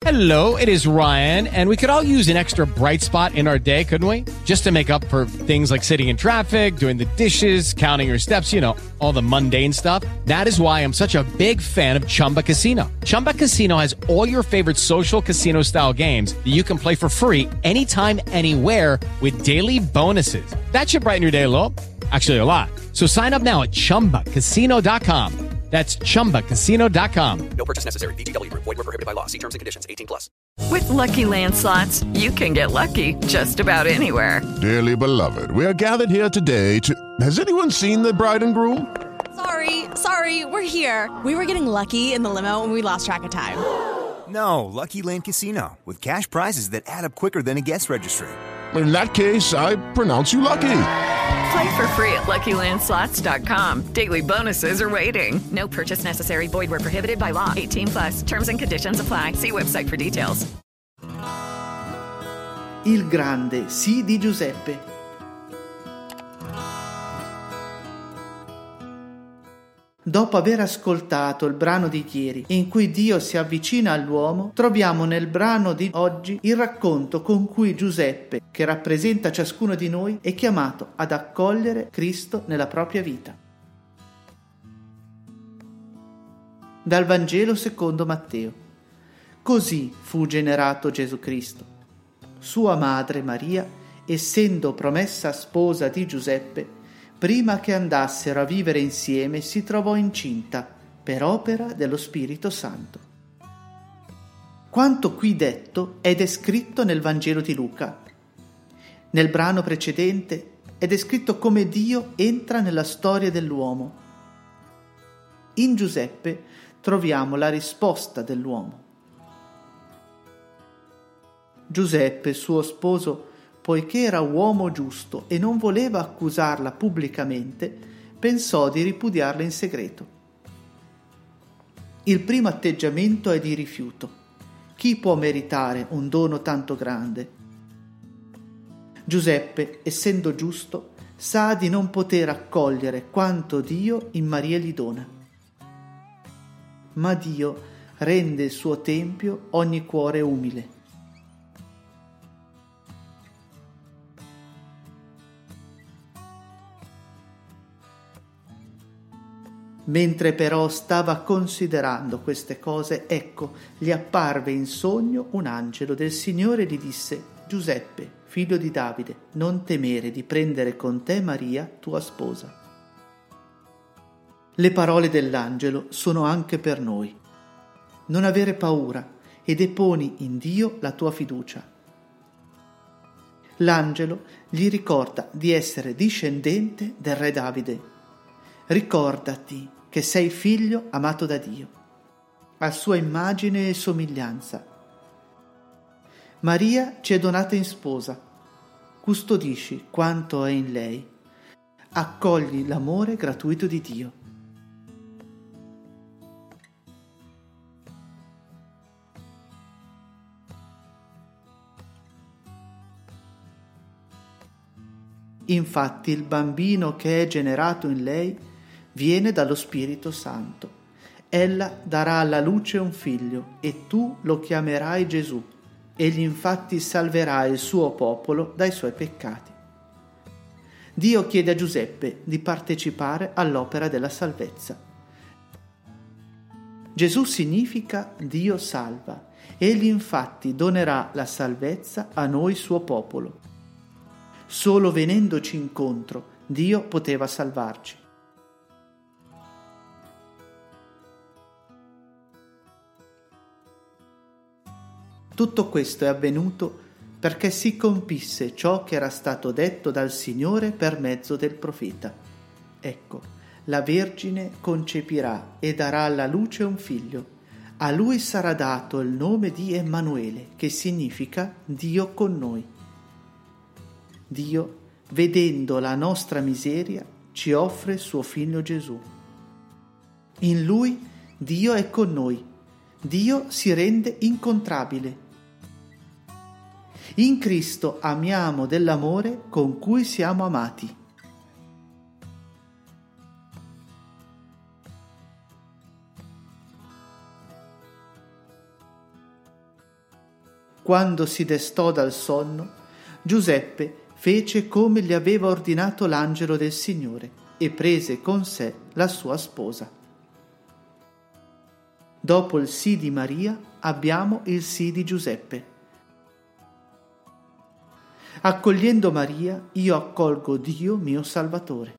Hello, it is Ryan, and we could all use an extra bright spot in our day, couldn't we? Just to make up for things like sitting in traffic, doing the dishes, counting your steps, you know, all the mundane stuff. That is why I'm such a big fan of Chumba Casino. Chumba Casino has all your favorite social casino-style games that you can play for free anytime, anywhere with daily bonuses. That should brighten your day a little. Actually, a lot. So sign up now at ChumbaCasino.com. That's ChumbaCasino.com. No purchase necessary. VGW Group. Void where prohibited by law. See terms and conditions. 18+. With Lucky Land Slots, you can get lucky just about anywhere. Dearly beloved, we are gathered here today to... Has anyone seen the bride and groom? Sorry, we're here. We were getting lucky in the limo and we lost track of time. No, Lucky Land Casino. With cash prizes that add up quicker than a guest registry. In that case, I pronounce you lucky. Play for free at LuckyLandSlots.com. Daily bonuses are waiting. No purchase necessary. Void where prohibited by law. 18+. Terms and conditions apply. See website for details. Il grande sì di Giuseppe. Dopo aver ascoltato il brano di ieri, in cui Dio si avvicina all'uomo, troviamo nel brano di oggi il racconto con cui Giuseppe, che rappresenta ciascuno di noi, è chiamato ad accogliere Cristo nella propria vita. Dal Vangelo secondo Matteo. Così fu generato Gesù Cristo. Sua madre Maria, essendo promessa sposa di Giuseppe, prima che andassero a vivere insieme, si trovò incinta per opera dello Spirito Santo. Quanto qui detto è descritto nel Vangelo di Luca. Nel brano precedente è descritto come Dio entra nella storia dell'uomo. In Giuseppe troviamo la risposta dell'uomo. Giuseppe, suo sposo, poiché era uomo giusto e non voleva accusarla pubblicamente, pensò di ripudiarla in segreto. Il primo atteggiamento è di rifiuto. Chi può meritare un dono tanto grande? Giuseppe, essendo giusto, sa di non poter accogliere quanto Dio in Maria gli dona. Ma Dio rende il suo tempio ogni cuore umile. Mentre però stava considerando queste cose, ecco, gli apparve in sogno un angelo del Signore e gli disse: Giuseppe, figlio di Davide, non temere di prendere con te Maria, tua sposa. Le parole dell'angelo sono anche per noi. Non avere paura e deponi in Dio la tua fiducia. L'angelo gli ricorda di essere discendente del re Davide. Ricordati che sei figlio amato da Dio, a sua immagine e somiglianza. Maria ci è donata in sposa. Custodisci quanto è in lei. Accogli l'amore gratuito di Dio. Infatti il bambino che è generato in lei viene dallo Spirito Santo. Ella darà alla luce un figlio e tu lo chiamerai Gesù. Egli infatti salverà il suo popolo dai suoi peccati. Dio chiede a Giuseppe di partecipare all'opera della salvezza. Gesù significa Dio salva. Egli infatti donerà la salvezza a noi suo popolo. Solo venendoci incontro Dio poteva salvarci. Tutto questo è avvenuto perché si compisse ciò che era stato detto dal Signore per mezzo del profeta. Ecco, la Vergine concepirà e darà alla luce un figlio. A lui sarà dato il nome di Emanuele, che significa Dio con noi. Dio, vedendo la nostra miseria, ci offre suo figlio Gesù. In lui Dio è con noi. Dio si rende incontrabile. In Cristo amiamo dell'amore con cui siamo amati. Quando si destò dal sonno, Giuseppe fece come gli aveva ordinato l'angelo del Signore e prese con sé la sua sposa. Dopo il sì di Maria abbiamo il sì di Giuseppe. Accogliendo Maria, io accolgo Dio mio Salvatore.